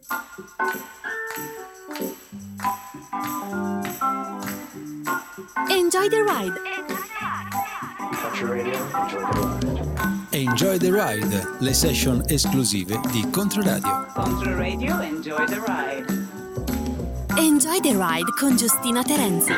Enjoy the ride. Enjoy the ride, le session esclusive di Controradio. Controradio, enjoy the ride. Enjoy the ride con Giustina Terenzi.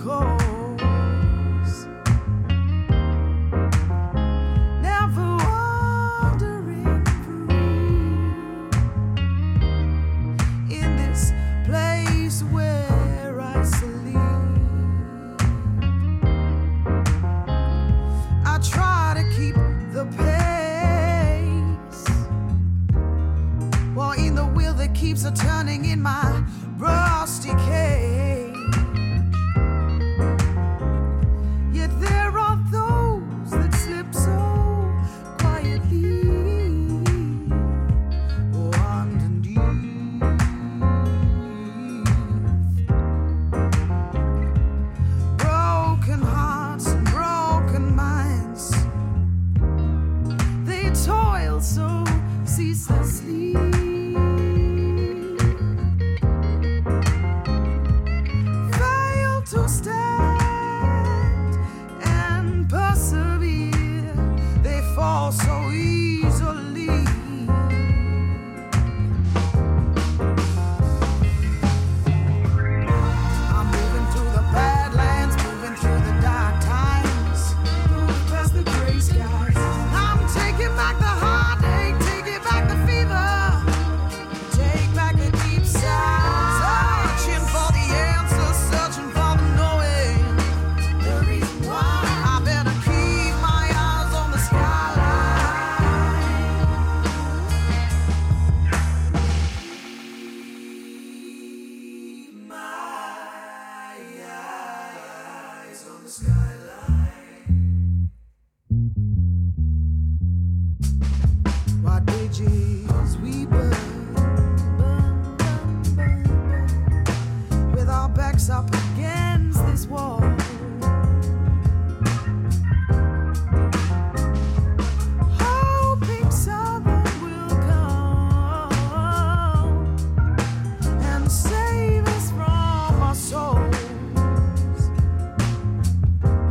course. Never wandering free in this place where I sleep. I try to keep the pace while in the wheel that keeps a turning in my rusty cage. Yet there are those that slip so quietly underneath. Broken hearts and broken minds, they toil so ceaselessly. Fail to stand and persevere, they fall so easily. I'm moving through the badlands, moving through the dark times, moving past the gray skies. I'm taking back the heartache, taking back the fever, take back the deep sigh. Searching for the answers, searching for the knowing, the reason why. I better keep my eyes on the skyline. Keep my eyes on the skyline. While bridges we burn, with our backs up against this wall. Hoping someone will come and save us from our souls.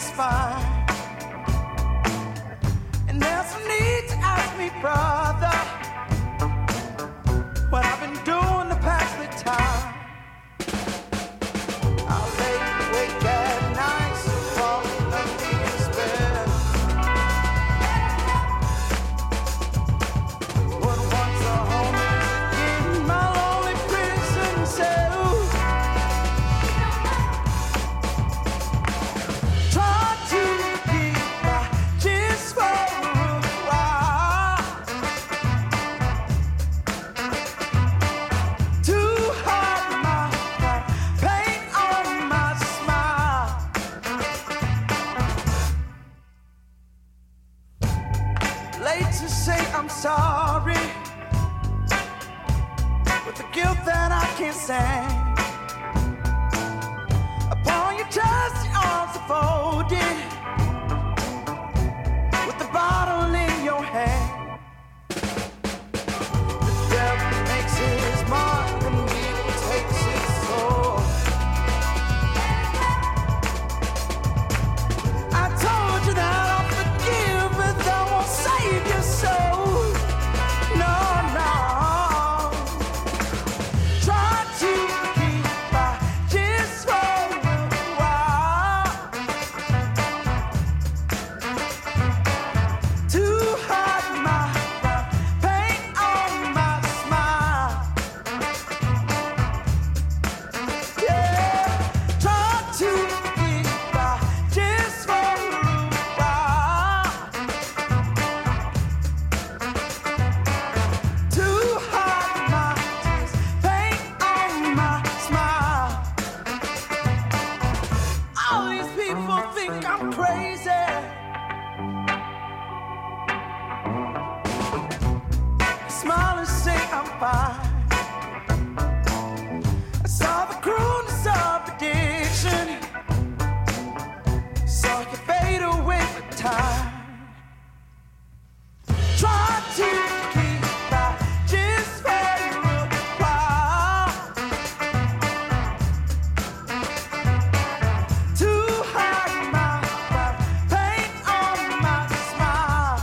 just fine. And there's no need to ask me, brother, what I've been doing to pass the time. I'll lay awake at night, so falling under your spell. What once a home is again my lonely prison cell. Try to keep my just for a while. Too hard my paint on my smile. Late to say I'm sorry, with the guilt that I can't stand. Upon your dusty arms folded, with the bottle in your hand. The devil makes his mark and evil takes his soul. I told you that I'll forgive, but that won't save your soul. No, no. Try to keep my just for a while. Too hard my paint on my smile. Yeah, try to keep my just for a while. Too hard my paint on my smile. All these people think I'm crazy. Smile and say I'm fine. I saw the cruelness of addiction, saw you fade away with time. Try to keep my just for a while. Too hard my paint on my smile.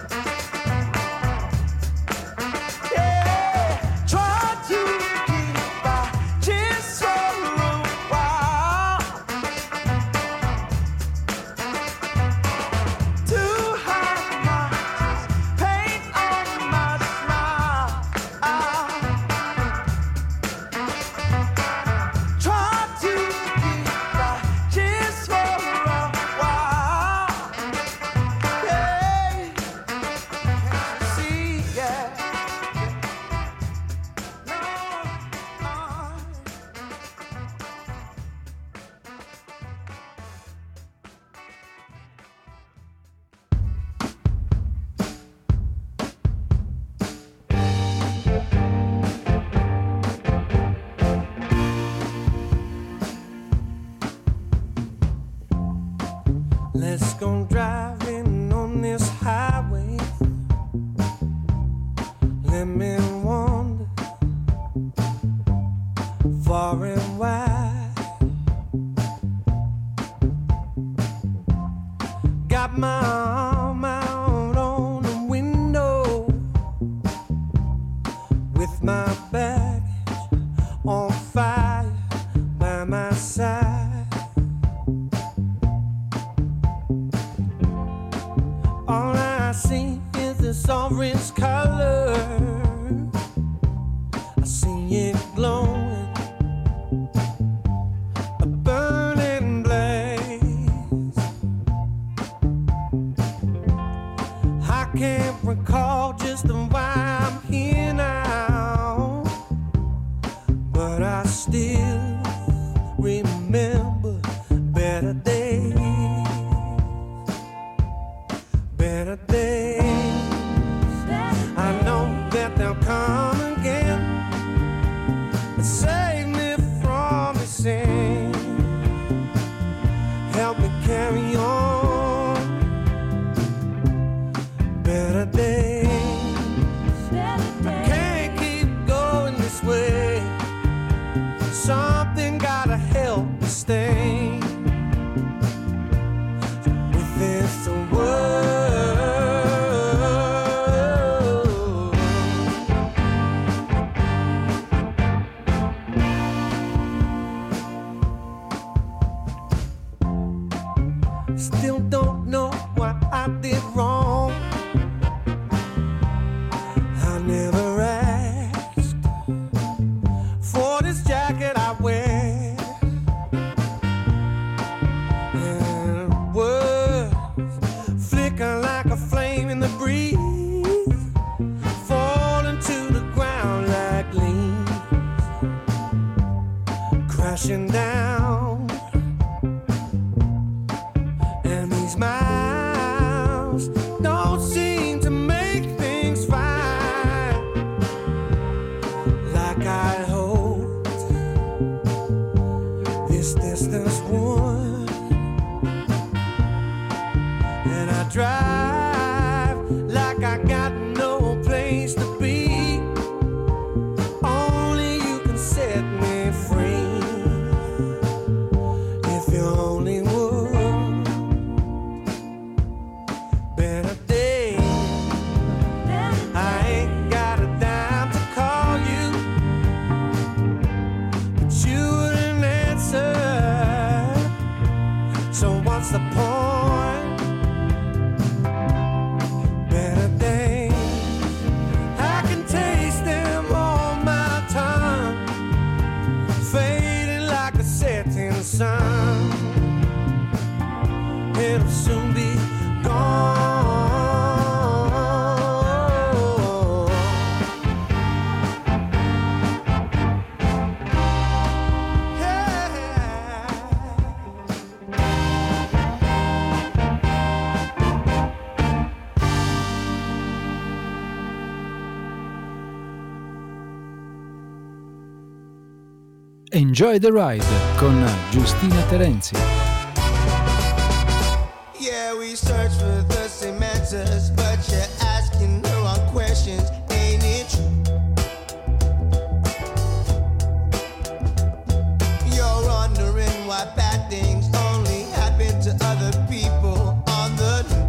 Yeah, try to keep my just for a while. Too hard my paint on my smile. Try to keep my just for a while. Hey, can't you see? Yeah. No. Let's go driving on this highway. Let me wander far and wide. Got my arm out on the window with my baggage on fire by my side. All I see is this orange color. I see it glowing, a burning blaze. I can't recall just why I'm here now, but I still remember better days. Better days. I know that they'll come again and save me from the sin. Help me carry on. Better days. I can't keep going this way. Something gotta help me stay. Still don't know what I did wrong. I never asked for this jacket I wear, and words flicker like a flame in the breeze, falling to the ground like leaves, crashing down. And these smiles don't seem to make things fine, like I hoped this distance would. And I drive like I got no place to be. Only you can set me free, if you only would. Better day, I ain't got a dime to call you, but you wouldn't answer. So what's the point? Better days, I can taste them on my tongue, fading like a setting sun. It'll soon be gone. Enjoy the Ride con Giustina Terenzi. Yeah, we search for the same answers, but you're asking the wrong questions, ain't it true? You're wondering why bad things only happen to other people on the news.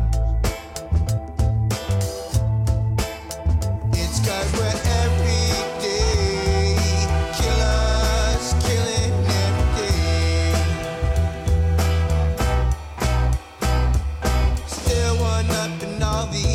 It's 'cause we're everyday killers, killing every day. Still one up in all the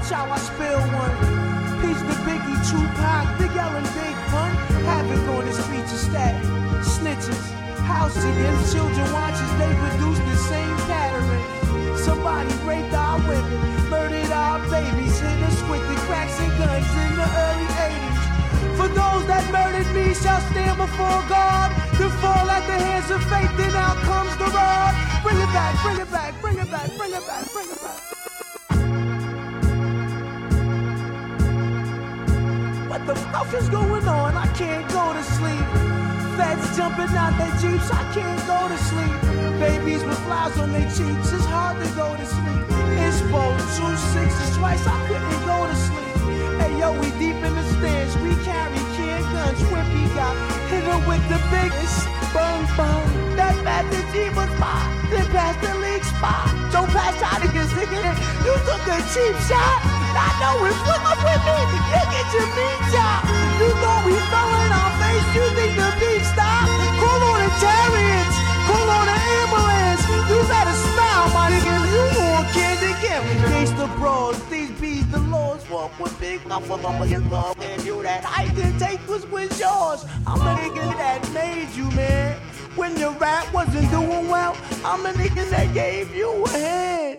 Watch how I spill one. Peace to Biggie, Tupac, Big L and Big Pun. Havoc on the streets of static. Snitches, house singing, children watches, they produce the same pattern. Somebody raped our women, murdered our babies, hit us with the cracks and guns in the early 80s. For those that murdered me shall stand before God, to fall at the hands of faith, then out comes the rod. Bring it back, bring it back, bring it back, bring it back, bring it back. What the fuck is going on? I can't go to sleep. Feds jumping out their jeeps, I can't go to sleep. Babies with flies on their cheeks, it's hard to go to sleep. Inspo, 2 6s twice, I couldn't go to sleep. Hey yo, we deep in the stands, we carry can guns. Whippy got hit her with the biggest bum bum. That bad the G was mine, then past the league spot. Don't pass out of your nigga, you took a cheap shot. I know it, flip up with me, you get your meat chop. You thought we fell in our face, you think the beat stop? Call on the chariots, call on the ambulance. You better smile, my nigga, you more kid than can. We face the bros, these bees, the laws. Walk with big muffle up against law. And you that I didn't take was yours. I'm a nigga that made you, man. When your rap wasn't doing well, I'm a nigga that gave you a hand.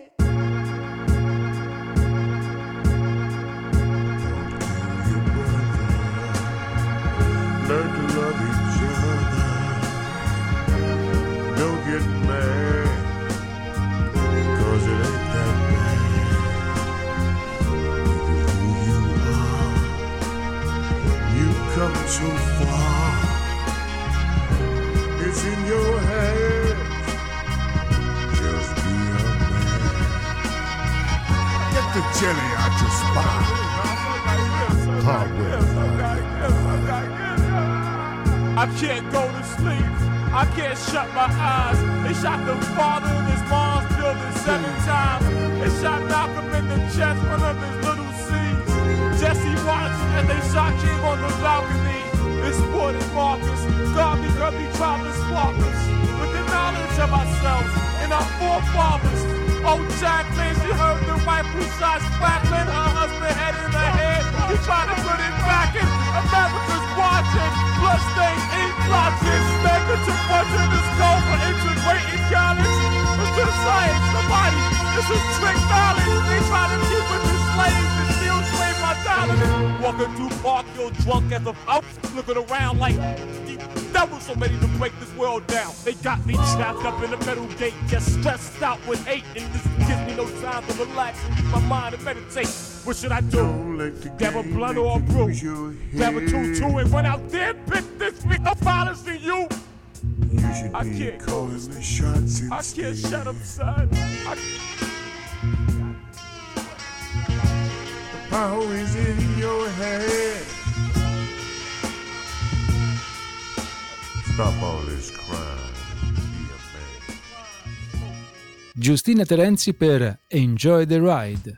Learn to love each other. Don't get mad, 'cause it ain't that bad. Look who you are. You've come so far. It's in your hands. Just be a man. Get the jelly out your spine. Hardware. I can't go to sleep, I can't shut my eyes. They shot the father in his mom's building 7 times. They shot Malcolm in the chest, one of his little seeds. Jesse watched as they shot King on the balcony. This sport is Marcus, God because we tried to spark us with the knowledge of ourselves and our forefathers. Oh, Jack, man, she heard the rifle shots crackling, her husband head in her head. He tried to put it back in, America's watching. Bloodstains, ink blotches, mega to punch in the skull for integrating college. It's the science, somebody, this is trick knowledge. They try to keep us enslaved and still slave my dollars. Walking through park, yo, drunk as a out, looking around like that was so ready to break this world down. They got me trapped up in the metal gate, just stressed out with hate, and this gives me no time to relax, my mind and meditate. What should I do? Grab a blunt or a brew? Grab a 2-2 and run out there, bitch, this week of violence to you. I can't go to sleep. I can't shut up, son. The power is in your head. Stop all this crime. Be a man. Giustina Terenzi per Enjoy the Ride.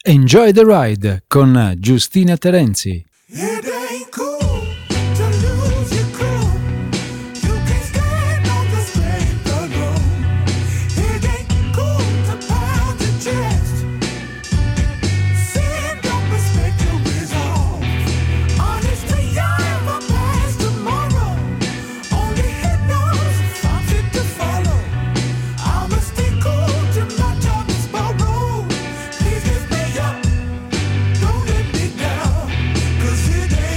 Enjoy the Ride con Giustina Terenzi. It ain't cool to lose your cool. You can't stand on the strength alone. It ain't cool to pound your chest. Sin don't respect your resolve. Honestly, I am a past tomorrow. Only hit knows if I'm fit to follow. I'ma stay cool till my job is borrowed. Please lift me up, don't let me down. 'Cause it ain't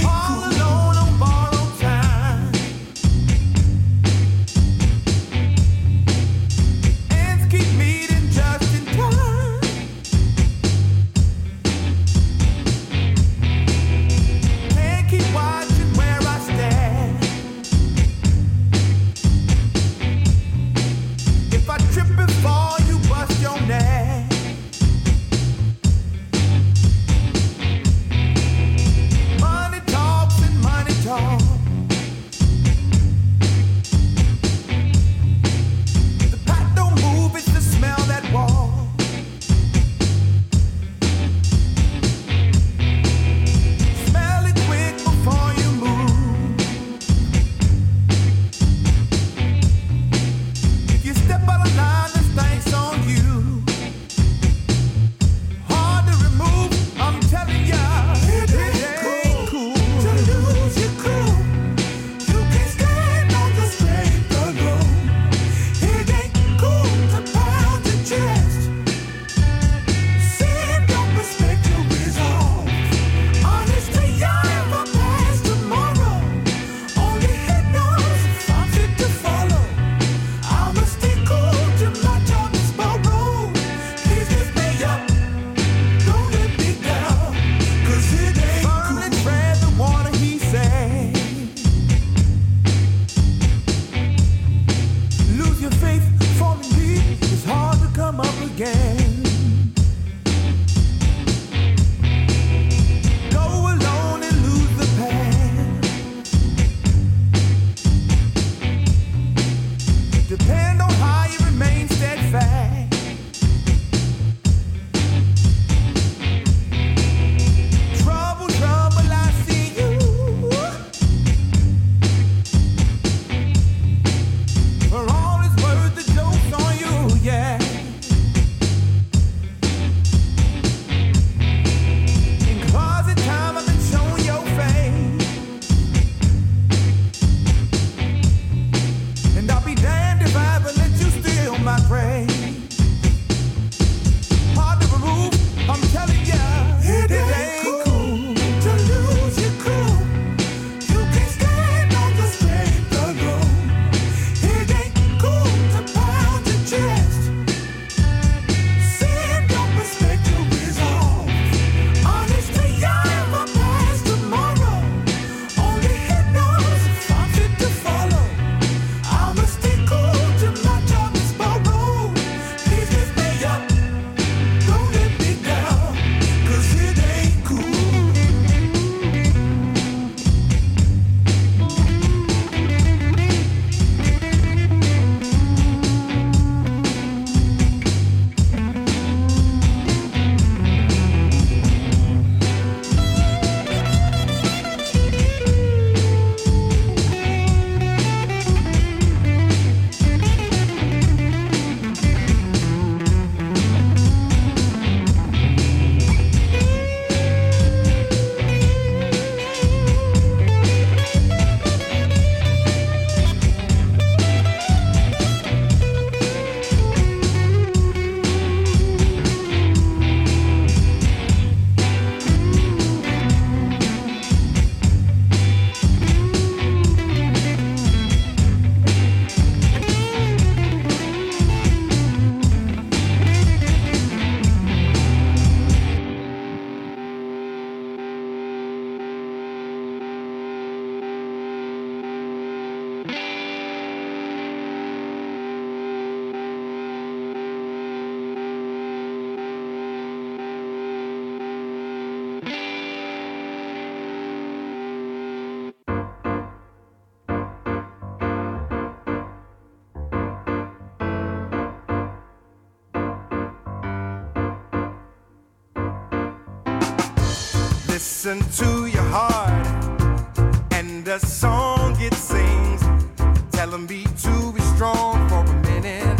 Listen to your heart and the song it sings, telling me to be strong for a minute.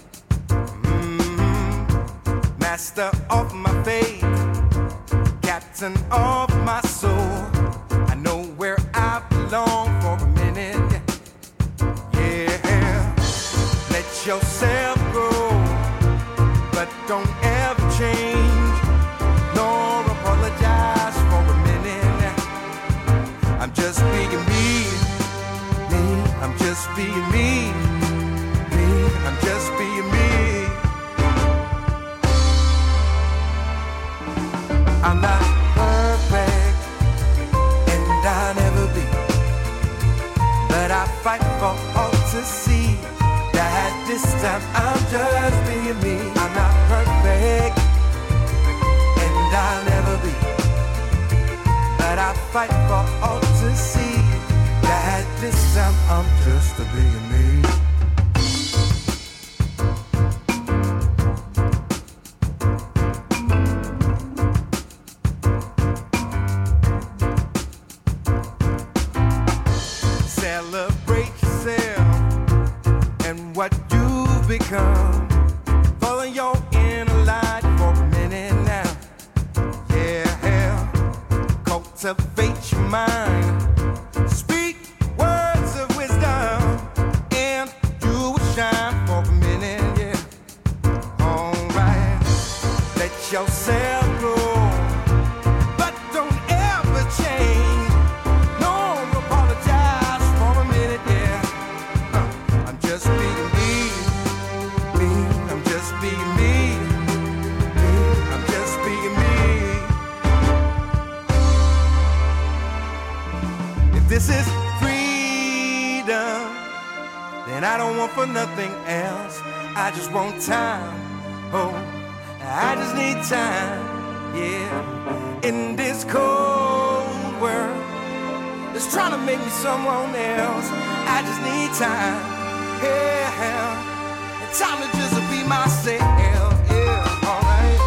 Master of my fate, captain of my soul, I know where I belong for a minute. Yeah, let yourself go, but don't ever change nor apologize for a minute. I'm just being me, I'm just being me, I'm just being me. I'm not perfect, and I'll never be, but I fight for all to see that this time I'm just being me. I'm not perfect, and I'll never be, but I fight for all to see that this time I'm just being me. Celebrate yourself and what you've become. Follow your inner light for a minute now. Yeah, cultivate your mind. Speak words of wisdom, and you will shine for a minute. Yeah, alright. Let yourself grow, but don't ever change. No apologize for a minute. Yeah, I'm just being me. I'm just being me. I'm just being me. If this is freedom, then I don't want for nothing else. I just want time. Oh, I just need time. Yeah, in this cold world, it's trying to make me someone else. I just need time. Yeah, time to just be myself. Yeah, alright.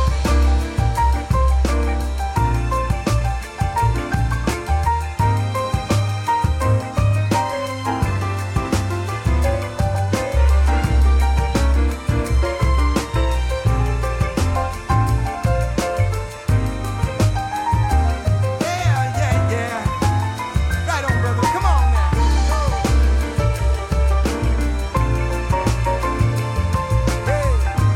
Yeah. Right on, brother. Come on now. Hey.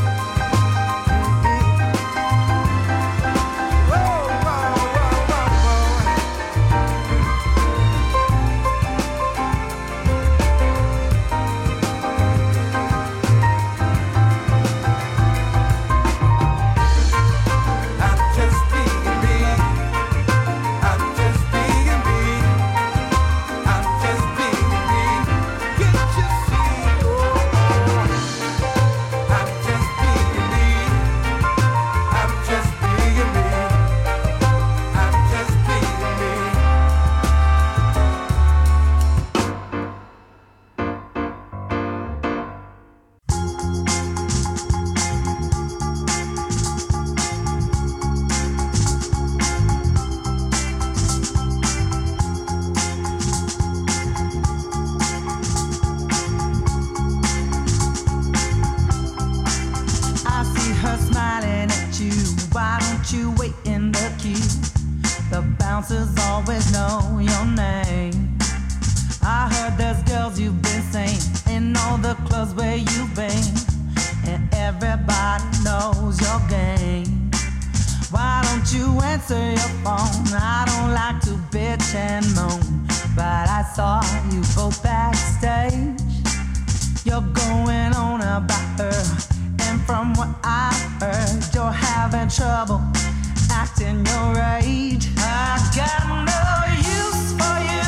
bouncers always know your name. I heard there's girls you've been saying in all the clubs where you've been, and everybody knows your game. Why don't you answer your phone? I don't like to bitch and moan, but I saw you both backstage. You're going on about her, and from what I've heard, you're having trouble acting your age. I got no use for you.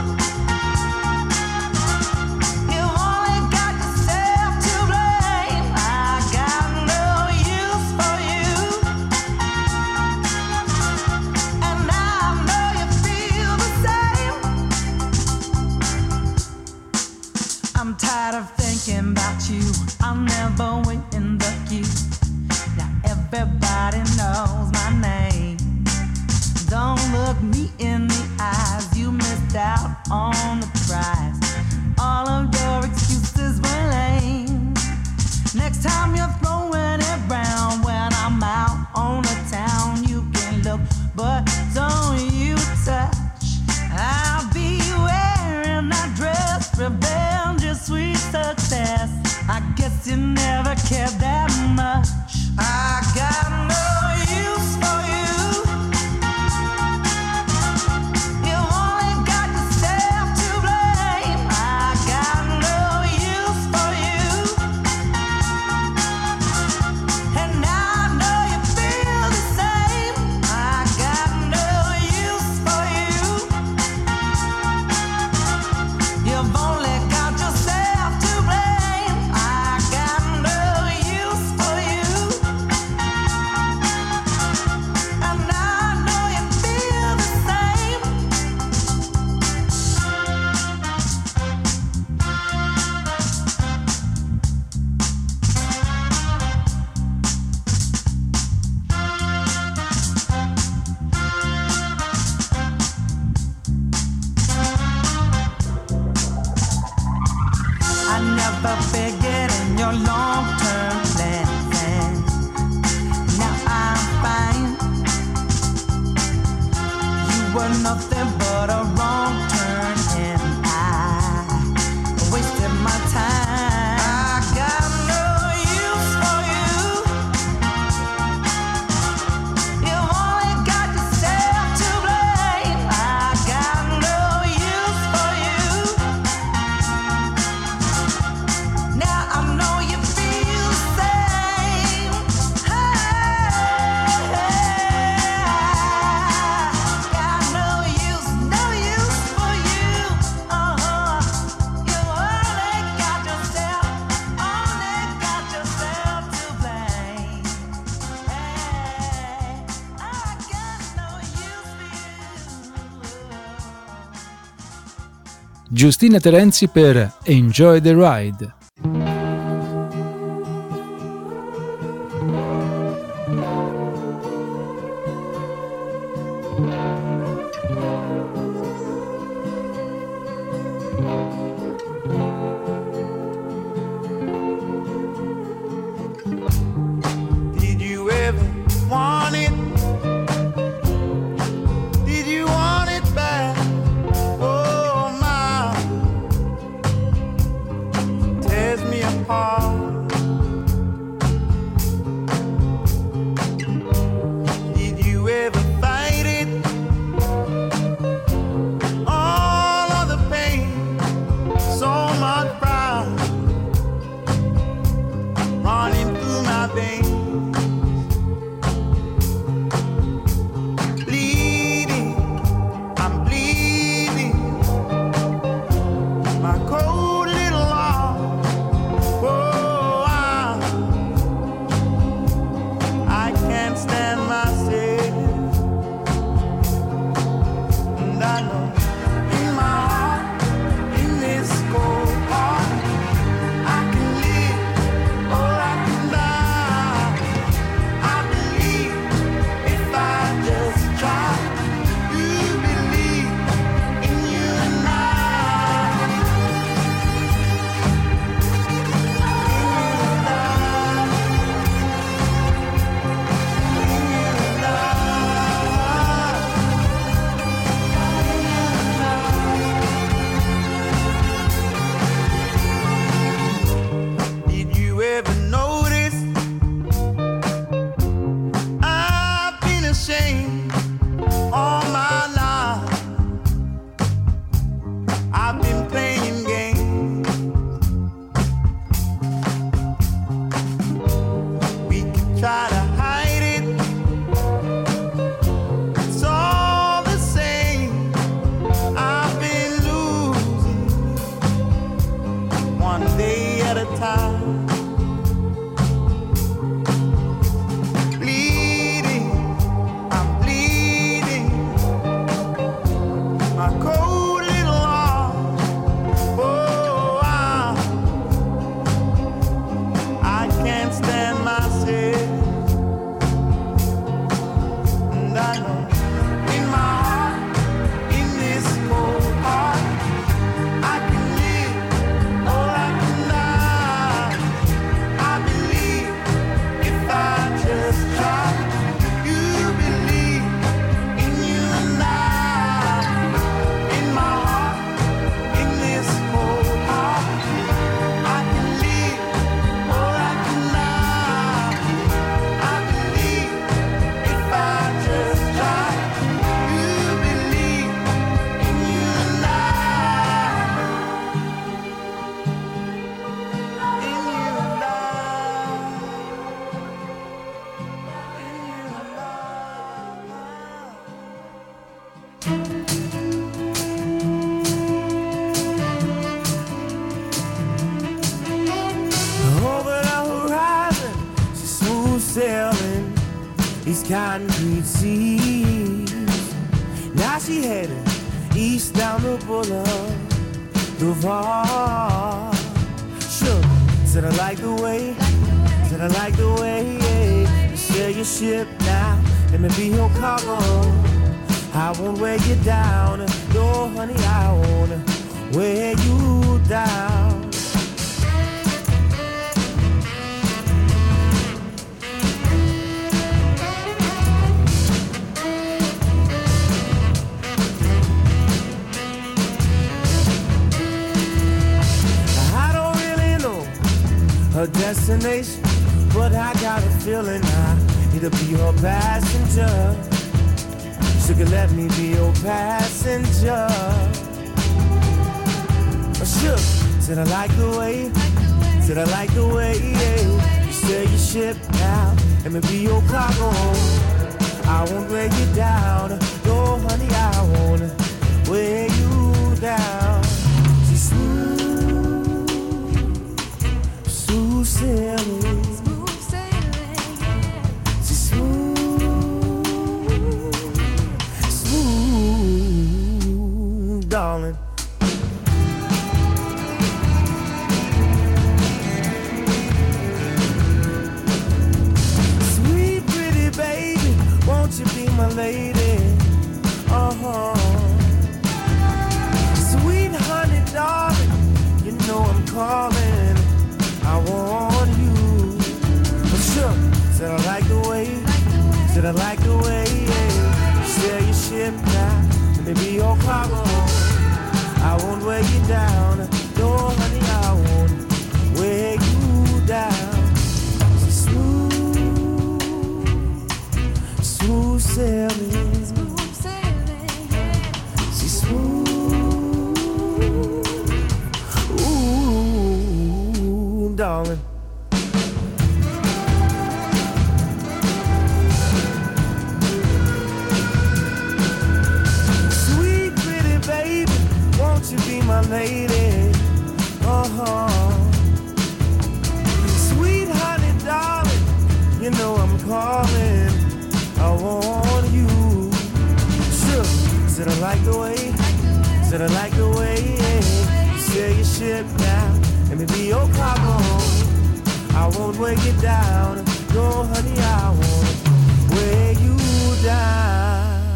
You only got yourself to blame. I got no use for you, and now I know you feel the same. I'm tired of thinking about you. I'll never wait in the queue. Now everybody knows my name. Don't look Next time you're throwing it round, when I'm out on the town, you can look, but don't you touch. I'll be wearing that dress, revenge is sweet success. I guess you never cared that much. I got no use for you. You only got yourself to blame. I got no use for you. And now I know you feel the same. I got no use for you. You've only got yourself to blame. I got no use for you. And now I know you feel the same. I never figured in your long-term plan. Now I'm fine. You were nothing but a wrong turn, and I wasted my time. I got no use for you. You only got yourself to blame. I got no use for you. Now I know you feel the same. Hey, got no use for you. You only got yourself to blame. Hey, I got no use for you. Giustina Terenzi per Enjoy the Ride. Did you ever want it? Did you want it bad? Oh my. sailing these concrete seas. Now she headed east down the Boulevard. Sure, said I like the way, said I like the way, yeah. You sail your ship now, let me be your cargo. I won't wear you down, no honey, I won't wear you down. Her destination, but I got a feeling I need to be her passenger. She could let me be your passenger. Sure, said I like the way, said I like the way, yeah. You sail your ship now, let me be your cargo. I won't wear you down, no honey, I won't wear you down. She's smooth sailing, she's smooth, darling. Sweet pretty baby, won't you be my lady? Sweet honey darling, you know I'm calling. I want you. Sure, said I like the way, said I like the way, yeah. Sail your ship now, let me be your cargo. I won't wear you down, no honey, I won't wear you down. She's smooth, smooth sailing, she's smooth, ooh, darling. Sweet pretty baby, won't you be my lady? Sweet honey darling, you know I'm calling. I want you. Sure, said I like the way, said I like the way, yeah. You sail your ship now, let me be your cargo. I won't wear you down, no honey, I won't wear you down.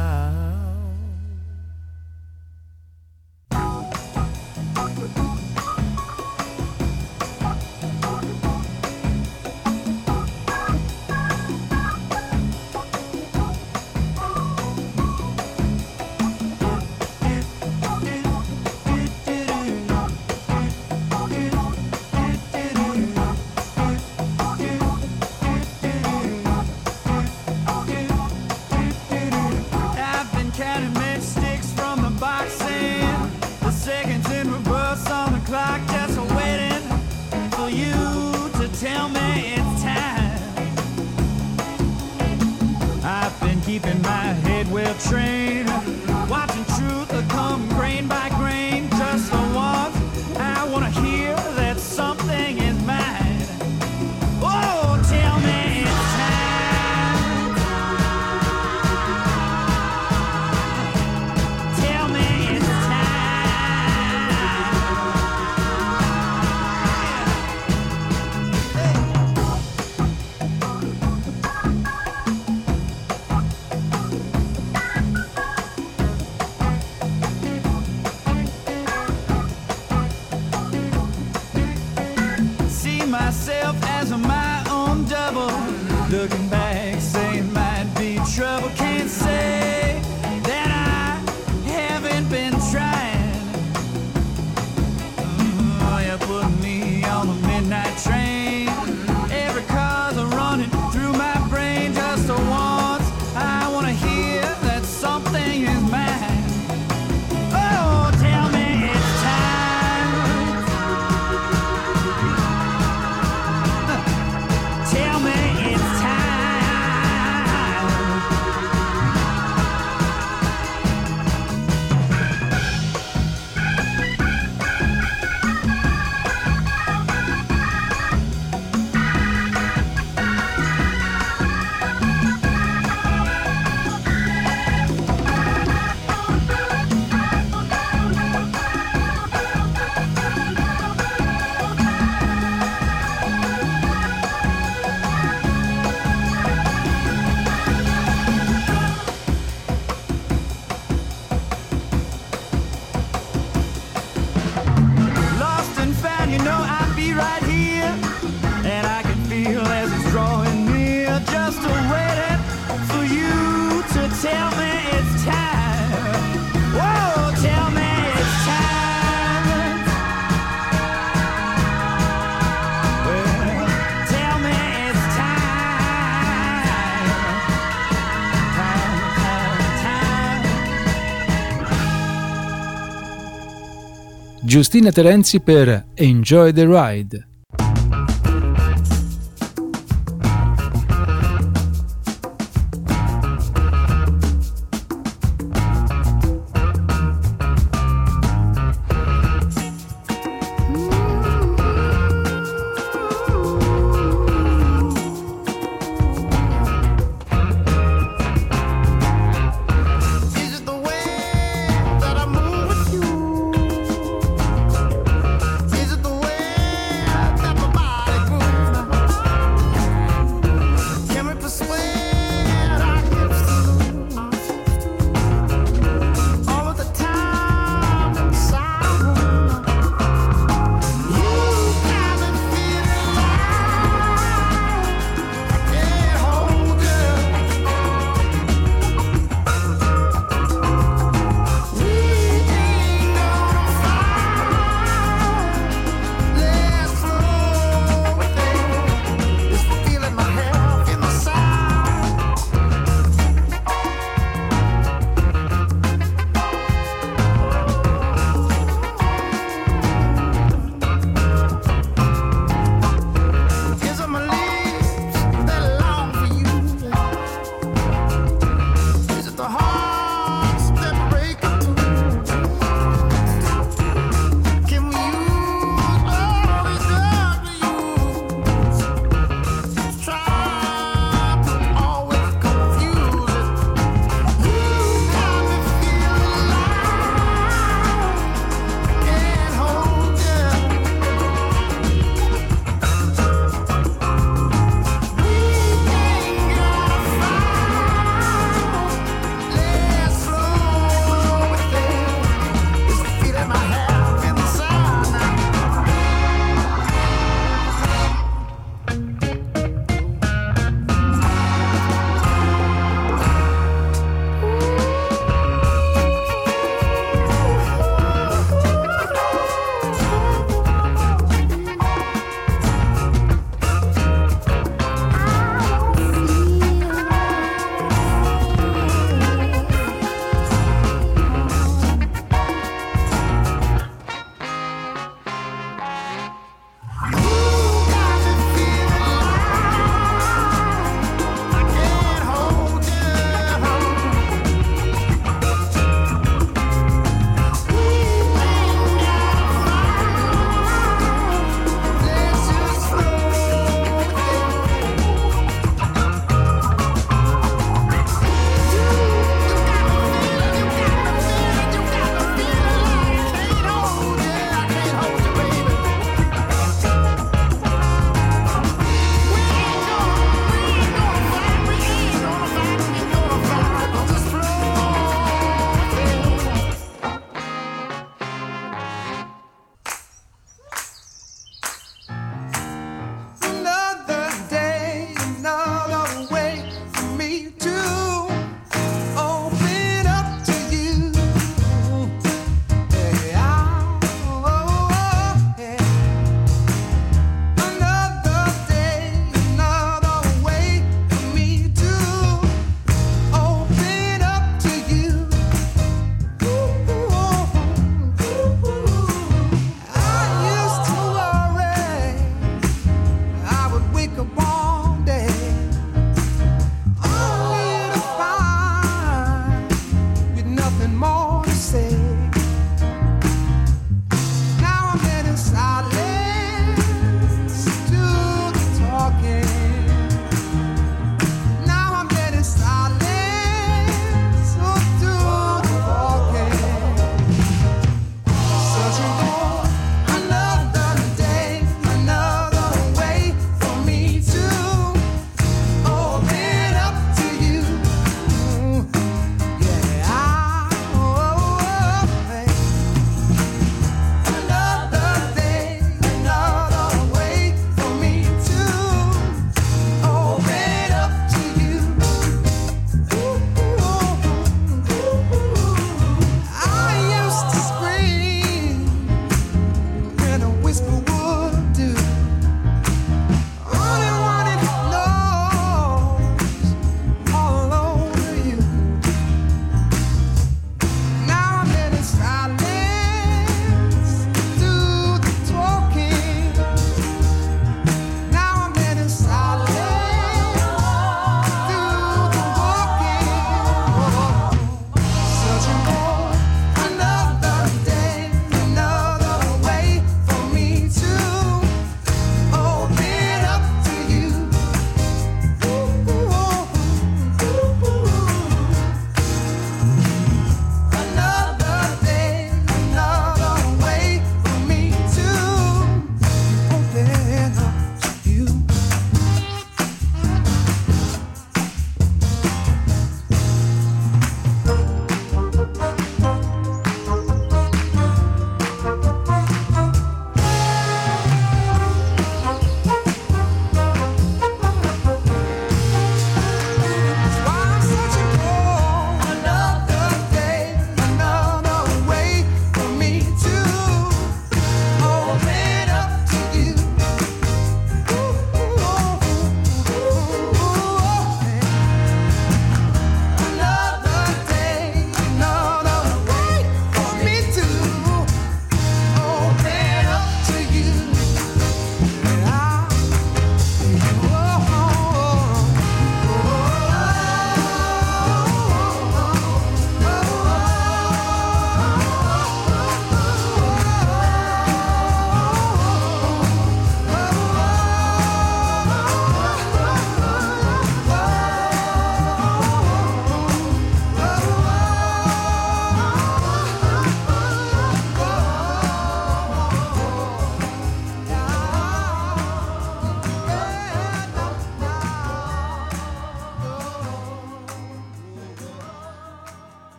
Keeping my head well trained, watching truth come grain by grain. Just for once, I wanna hear that something is mine. Oh, tell me it's time. Tell me it's time. Giustina Terenzi per Enjoy the Ride. Is it the way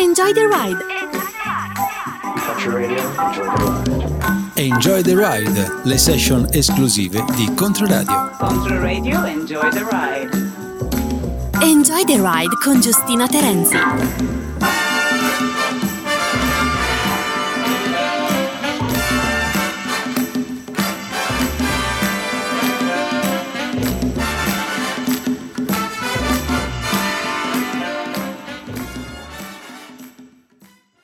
Enjoy the ride. Country Radio, enjoy the ride. Enjoy the Ride, le session esclusive di Controradio. Controradio, enjoy the ride. Enjoy the ride con Giustina Terenzi.